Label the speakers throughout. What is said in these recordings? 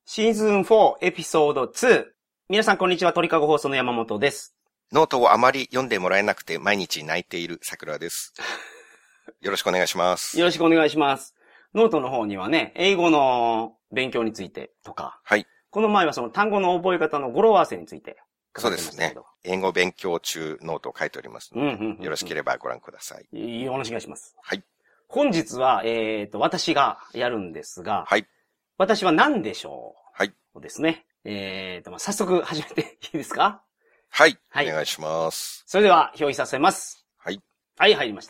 Speaker 1: シーズン4エピソード2。皆さんこんにちは、鳥かご放送の山本です。
Speaker 2: ノートをあまり読んでもらえなくて毎日泣いている桜です。よろしくお願いします。
Speaker 1: よろしくお願いします。ノートの方にはね、英語の勉強についてとか。
Speaker 2: はい。
Speaker 1: この前はその単語の覚え方の語呂合わせについて書かれてましたけど。
Speaker 2: そうですね。英語勉強中ノートを書いておりますので、よろしければご覧ください。
Speaker 1: よろしくお願いします。
Speaker 2: はい。
Speaker 1: 本日は、私がやるんですが、
Speaker 2: はい。
Speaker 1: 私は何でしょう
Speaker 2: はい。
Speaker 1: ですね。早速始めていいですか？
Speaker 2: はい。
Speaker 1: はい。
Speaker 2: お願いします。
Speaker 1: それでは表示させます。
Speaker 2: はい。
Speaker 1: はい、入りました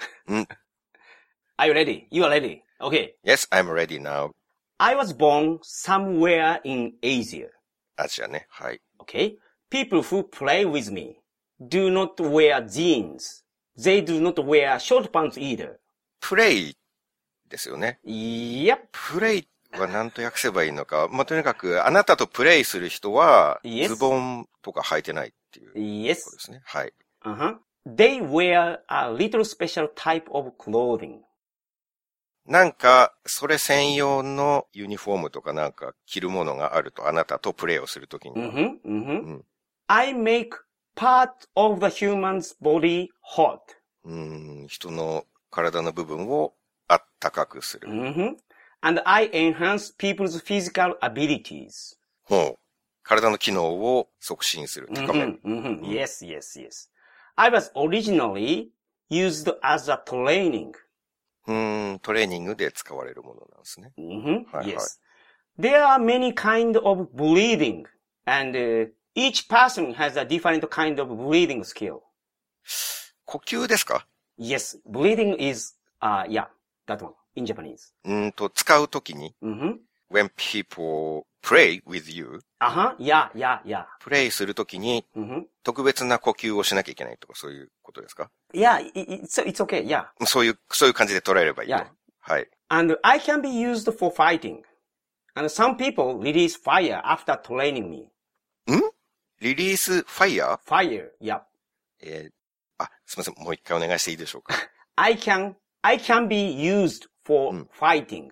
Speaker 1: 。Are you ready? You are ready. Okay.
Speaker 2: Yes, I'm ready now.
Speaker 1: I was born somewhere in Asia.
Speaker 2: アジアね。はい。
Speaker 1: Okay. People who play with me do not wear jeans. They do not wear short pants either.
Speaker 2: プレイですよね。
Speaker 1: Yep.
Speaker 2: プレイは何と訳せばいいのか。まあ、とにかく、あなたとプレイする人は、ズボンとか履いてないっていうことですね。はい。
Speaker 1: They wear a little special type of clothing.
Speaker 2: なんか、それ専用のユニフォームとかなんか着るものがあると、あなたとプレイをするときに。
Speaker 1: I make part of the human's body hot.
Speaker 2: 人の体の部分をあったかくする。
Speaker 1: And I enhance people's physical abilities.
Speaker 2: ほう。体の機能を促進する。高める。
Speaker 1: Yes, yes, yes. I was originally used as a training.
Speaker 2: トレーニングで使われるものなんですね。
Speaker 1: Yes. There are many kind of breathing, and each person has a different kind of breathing skill.
Speaker 2: 呼吸ですか？
Speaker 1: Yes, breathing is, yeah, that one, in Japanese.
Speaker 2: 使うときに、when people pray with you,
Speaker 1: yeah.
Speaker 2: プレイするときに、特別な呼吸をしなきゃいけないとかそういうことですか？
Speaker 1: Yeah, it's okay, yeah.
Speaker 2: そういう感じで捉えればいいと。
Speaker 1: Yeah.
Speaker 2: はい。
Speaker 1: And I can be used for fighting. And some people release fire after training me.
Speaker 2: リリースファイヤー？
Speaker 1: Fire, yeah.
Speaker 2: すみません。もう一回お願いしていいでしょうか。
Speaker 1: I can be used for fighting.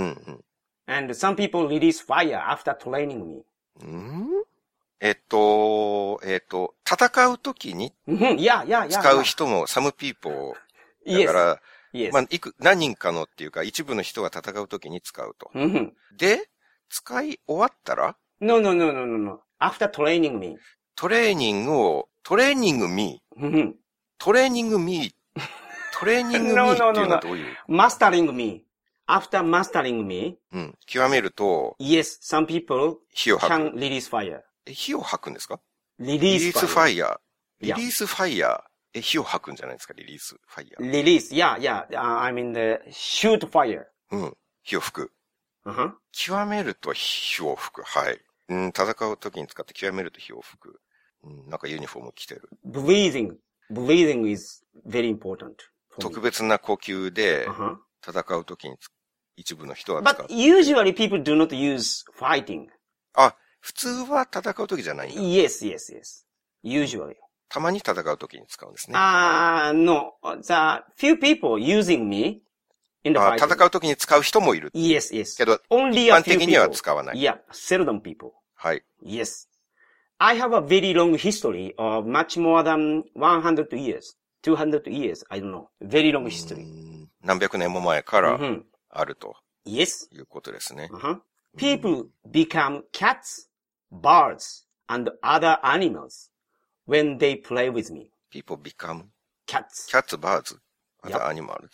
Speaker 1: And some people release fire after training me.
Speaker 2: 戦うときに使う人も some people だから、まあ、何人かのっていうか一部の人が戦うときに使うと。で、使い終わったら
Speaker 1: No. After training me.
Speaker 2: トレーニングミーっていうのはどういう
Speaker 1: Mastering me. After mastering me.
Speaker 2: 極めると
Speaker 1: Yes, some people
Speaker 2: 火を吐
Speaker 1: can
Speaker 2: く。
Speaker 1: release fire.
Speaker 2: 火を吐くんですか？
Speaker 1: Release
Speaker 2: fire. リリースファイヤー。火を吐くんじゃないですか？リリースファイヤー。
Speaker 1: Release, yeah. I mean the shoot fire.
Speaker 2: 火を吹く。極めると火を吹く。はい。戦う時に使って極めると火を吹く。なんかユニフォーム着てる。
Speaker 1: Breathing is very important.
Speaker 2: 特別な呼吸で戦う時に一部の人は使う。
Speaker 1: But usually people do not use fighting.
Speaker 2: 普通は戦う時じゃないんだ。
Speaker 1: Yes. Usually.
Speaker 2: たまに戦う時に使うんですね。
Speaker 1: No. The few people using me in the fighting.
Speaker 2: 戦う時に使う人もいる。
Speaker 1: Yes.
Speaker 2: けど、
Speaker 1: Only
Speaker 2: 一
Speaker 1: a
Speaker 2: 般
Speaker 1: few
Speaker 2: 的には
Speaker 1: people.
Speaker 2: 使わない。
Speaker 1: Yeah, seldom people.
Speaker 2: はい。
Speaker 1: Yes. I have a very long history of much more than 100 years. 200 years. I don't know. Very long history.
Speaker 2: 何百年も前からあると。
Speaker 1: Yes.
Speaker 2: いうことですね。
Speaker 1: People become cats, birds, and other animals when they play with me.
Speaker 2: People become
Speaker 1: cats,
Speaker 2: birds, other animals.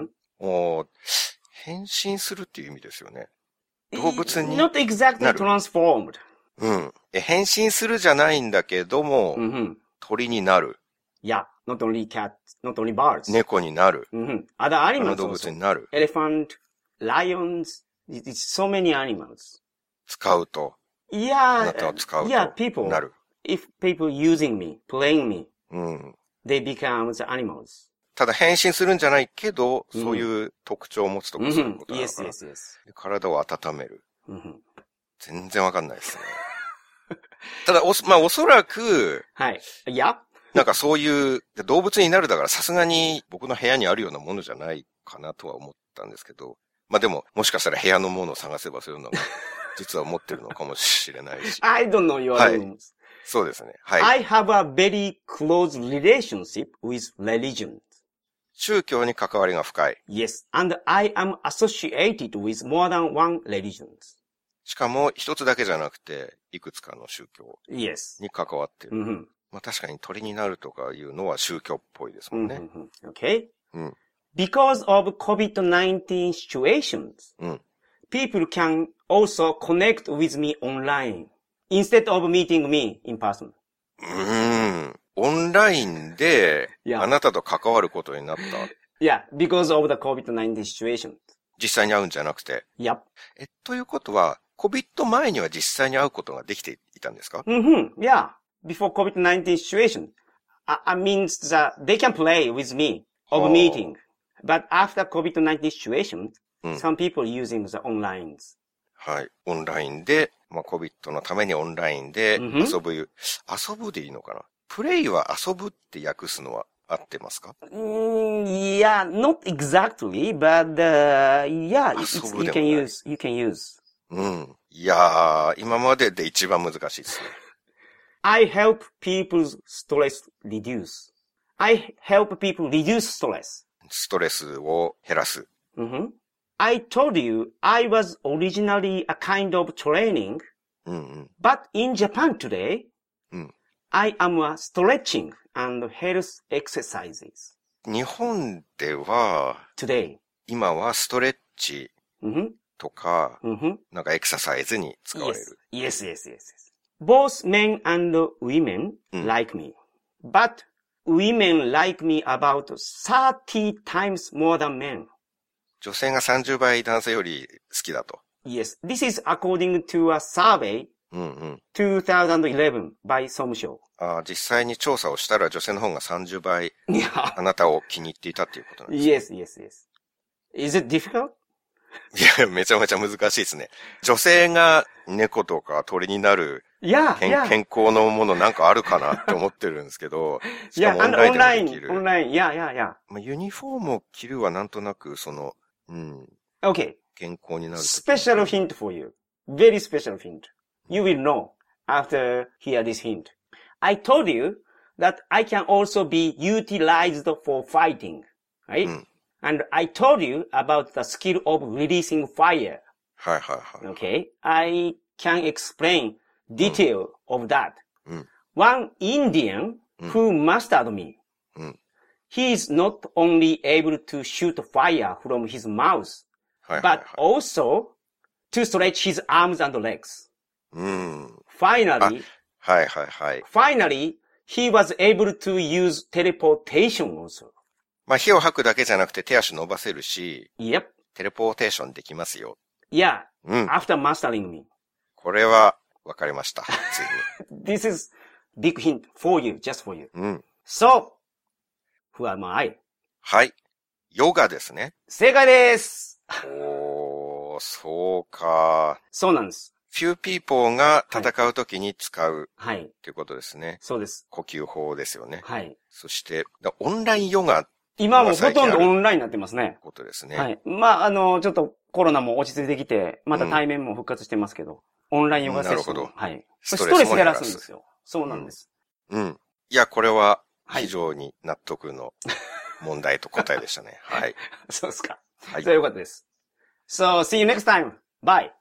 Speaker 2: 変身するっていう意味ですよね。動物になる。
Speaker 1: Not exactly transformed.
Speaker 2: 変身するじゃないんだけども、鳥になる。
Speaker 1: Yeah, not only cats, not only birds.
Speaker 2: 猫になる。
Speaker 1: Other animals
Speaker 2: 動物になる。
Speaker 1: Elephant, lions, it's so many animals.
Speaker 2: 使うと。
Speaker 1: Yeah,
Speaker 2: あなたを使うと。
Speaker 1: people.
Speaker 2: なる。
Speaker 1: If people using me, playing me, they become the animals.
Speaker 2: ただ変身するんじゃないけど、そういう特徴を持つとかそういうことだから。
Speaker 1: Yes.
Speaker 2: 体を温める。全然わかんないですね。ただ、おそらく、
Speaker 1: はい。いや
Speaker 2: なんかそういう動物になるだからさすがに僕の部屋にあるようなものじゃないかなとは思ったんですけど、まあでも、もしかしたら部屋のものを探せばそういうのが実は持ってるのかもしれないし。
Speaker 1: I don't know your rooms.、はい、
Speaker 2: そうですね。はい。
Speaker 1: I have a very close relationship with religion.
Speaker 2: 宗教に関わりが深い。
Speaker 1: Yes, and I am associated with more than one religion.
Speaker 2: しかも一つだけじゃなくて、いくつかの宗教に関わっている。
Speaker 1: Mm-hmm.
Speaker 2: まあ確かに鳥になるとかいうのは宗教っぽいですもんね。
Speaker 1: Mm-hmm. Okay?、Because of COVID-19 situations,、people can also connect with me online instead of meeting me in person.
Speaker 2: オンラインで、あなたと関わることになった。
Speaker 1: Yeah, because of the COVID-19 situation.
Speaker 2: 実際に会うんじゃなくて。
Speaker 1: Yep.
Speaker 2: ということは、COVID 前には実際に会うことができていたんですか？
Speaker 1: Yeah. Before COVID-19 situation. I mean that they can play with me of meeting. But after COVID-19 situation, some people using the onlines.
Speaker 2: はい。オンラインで、まあ、COVID のためにオンラインで遊ぶ、遊ぶでいいのかな？プレイは遊ぶって訳すのは合ってますか？
Speaker 1: Yeah, not exactly, but, yeah, you can use.
Speaker 2: いやー、今までで一番難しいですね。
Speaker 1: I help people's stress reduce. I help people reduce stress.
Speaker 2: ストレスを減らす。
Speaker 1: I told you I was originally a kind of training, but in Japan today, I am a stretching and health exercises.
Speaker 2: 日本では、
Speaker 1: today.
Speaker 2: 今はストレッチとか、なんかエクササイズに使われる。
Speaker 1: Yes. Both men and women like me, but women like me about 30 times more than men.
Speaker 2: 女性が30倍男性より好きだと。
Speaker 1: Yes, this is according to a survey 2011 by SOMSHO.
Speaker 2: 実際に調査をしたら女性の方が30倍あなたを気に入っていたっていうことなんですね。
Speaker 1: Yes. Is it difficult?
Speaker 2: いや、めちゃめちゃ難しいですね。女性が猫とか鳥になる健康のものなんかあるかなって思ってるんですけど、しかもオンラインでもできる。
Speaker 1: オンライン、yeah.
Speaker 2: まあ、ユニフォームを着るはなんとなく
Speaker 1: Okay.
Speaker 2: 健康になる。
Speaker 1: Special hint for you. Very special hint. You will know after hear this hint. I told you that I can also be utilized for fighting, right?、And I told you about the skill of releasing fire.
Speaker 2: はい。
Speaker 1: Okay. I can explain detail of that. One Indian who mastered me. He is not only able to shoot fire from his mouth, but also to stretch his arms and legs. Finally, he was able to use teleportation also.
Speaker 2: まあ、火を吐くだけじゃなくて手足伸ばせるし、
Speaker 1: Yep.
Speaker 2: テレポーテーションできますよ。
Speaker 1: Yeah. After mastering me.
Speaker 2: これは分かりました。つい
Speaker 1: に。This is big hint for you, just for you. So, who am I?
Speaker 2: はい。ヨガですね。
Speaker 1: 正解です。
Speaker 2: そうか。
Speaker 1: そうなんです。
Speaker 2: few people が戦うときに使う。
Speaker 1: はい。
Speaker 2: っていうことですね。
Speaker 1: そうです。
Speaker 2: 呼吸法ですよね。
Speaker 1: はい。
Speaker 2: そして、オンラインヨガ。
Speaker 1: 今もほとんどオンラインになってますね。
Speaker 2: ことですね。
Speaker 1: はい。まあ、ちょっとコロナも落ち着いてきて、また対面も復活してますけど、オンラインヨガセッション。なるほど。はい。ストレス減らすんですよ。そうなんです。
Speaker 2: いや、これは非常に納得の問題と答えでしたね。はい。
Speaker 1: そうですか。それはよかったです。So, see you next time. Bye.